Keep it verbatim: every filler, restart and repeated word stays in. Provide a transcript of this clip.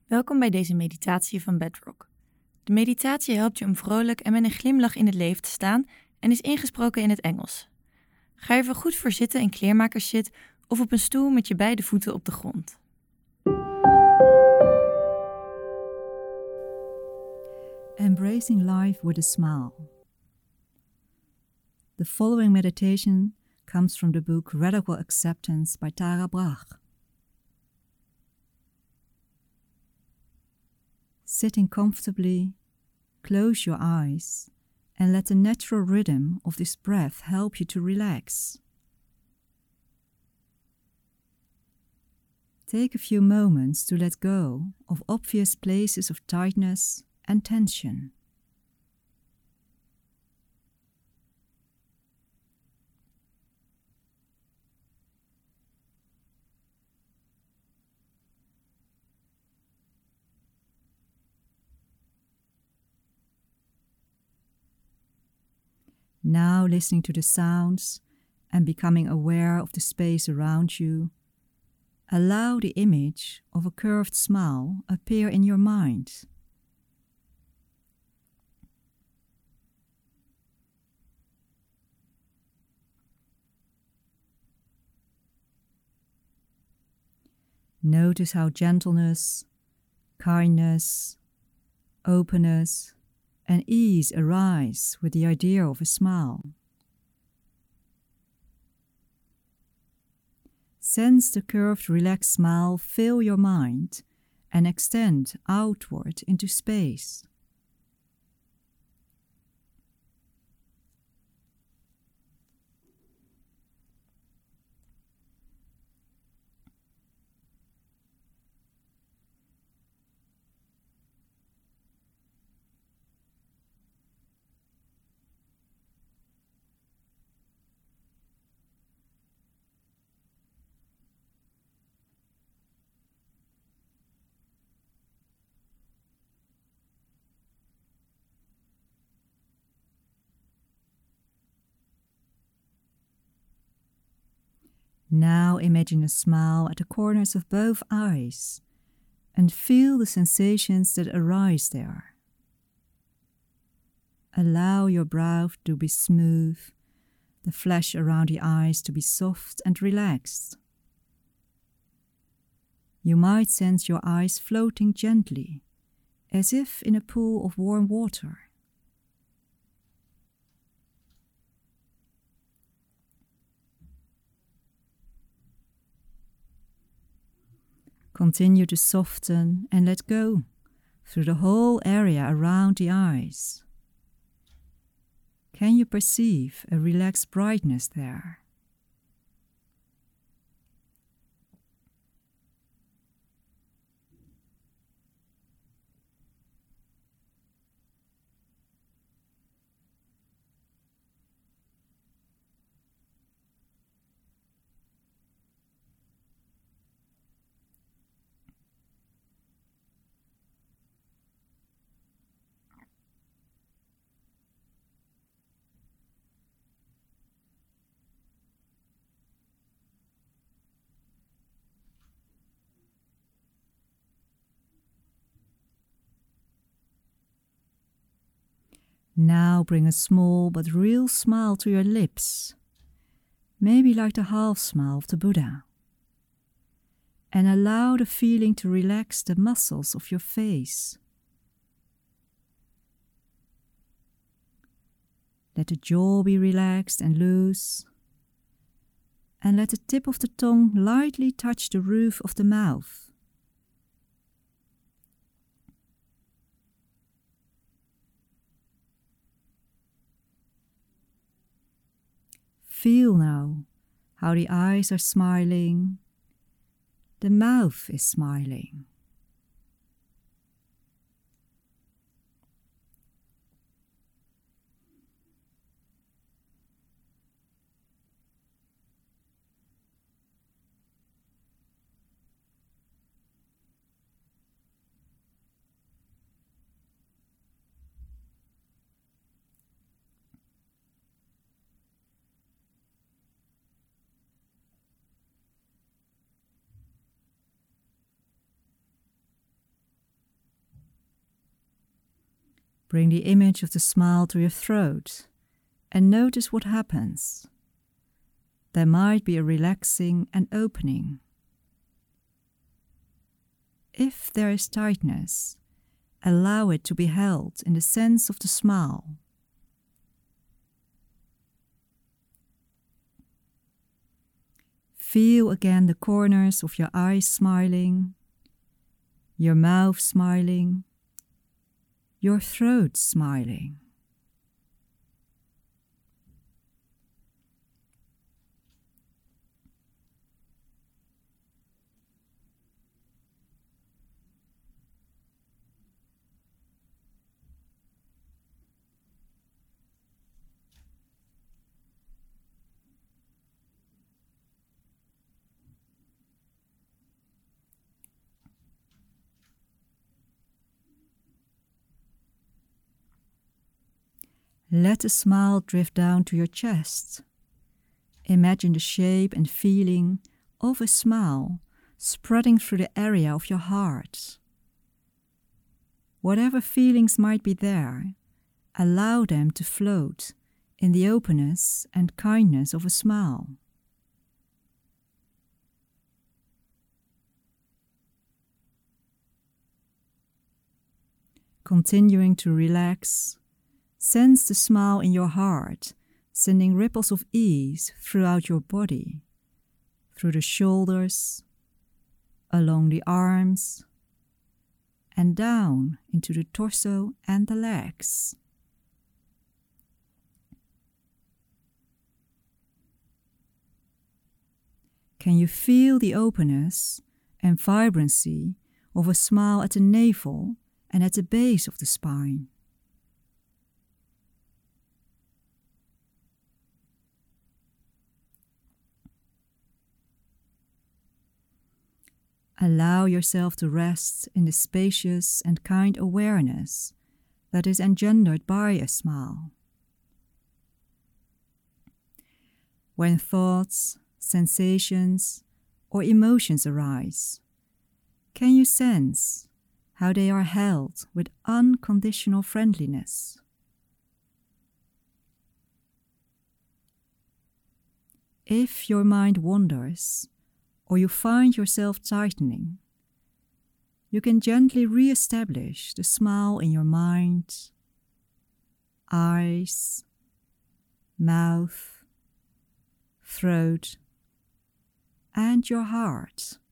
Welkom bij deze meditatie van Bedrock. De meditatie helpt je om vrolijk en met een glimlach in het leven te staan en is ingesproken in het Engels. Ga er goed voor zitten in kleermakerszit of op een stoel met je beide voeten op de grond. Embracing life with a smile. The following meditation comes from the book Radical Acceptance by Tara Brach. Sitting comfortably, close your eyes and let the natural rhythm of this breath help you to relax. Take a few moments to let go of obvious places of tightness and tension. Now listening to the sounds and becoming aware of the space around you, allow the image of a curved smile appear in your mind. Notice how gentleness, kindness, openness, and ease arise with the idea of a smile. Sense the curved, relaxed smile fill your mind and extend outward into space. Now imagine a smile at the corners of both eyes and feel the sensations that arise there. Allow your brow to be smooth, the flesh around the eyes to be soft and relaxed. You might sense your eyes floating gently, as if in a pool of warm water. Continue to soften and let go through the whole area around the eyes. Can you perceive a relaxed brightness there? Now bring a small but real smile to your lips, maybe like the half smile of the Buddha, and allow the feeling to relax the muscles of your face. Let the jaw be relaxed and loose, and let the tip of the tongue lightly touch the roof of the mouth. Feel now how the eyes are smiling, the mouth is smiling. Bring the image of the smile to your throat and notice what happens. There might be a relaxing and opening. If there is tightness, allow it to be held in the sense of the smile. Feel again the corners of your eyes smiling, your mouth smiling, your throat smiling. Let the smile drift down to your chest. Imagine the shape and feeling of a smile spreading through the area of your heart. Whatever feelings might be there, allow them to float in the openness and kindness of a smile. Continuing to relax, sense the smile in your heart, sending ripples of ease throughout your body, through the shoulders, along the arms, and down into the torso and the legs. Can you feel the openness and vibrancy of a smile at the navel and at the base of the spine? Allow yourself to rest in the spacious and kind awareness that is engendered by a smile. When thoughts, sensations, or emotions arise, can you sense how they are held with unconditional friendliness? If your mind wanders, or you find yourself tightening, you can gently re-establish the smile in your mind, eyes, mouth, throat, and your heart.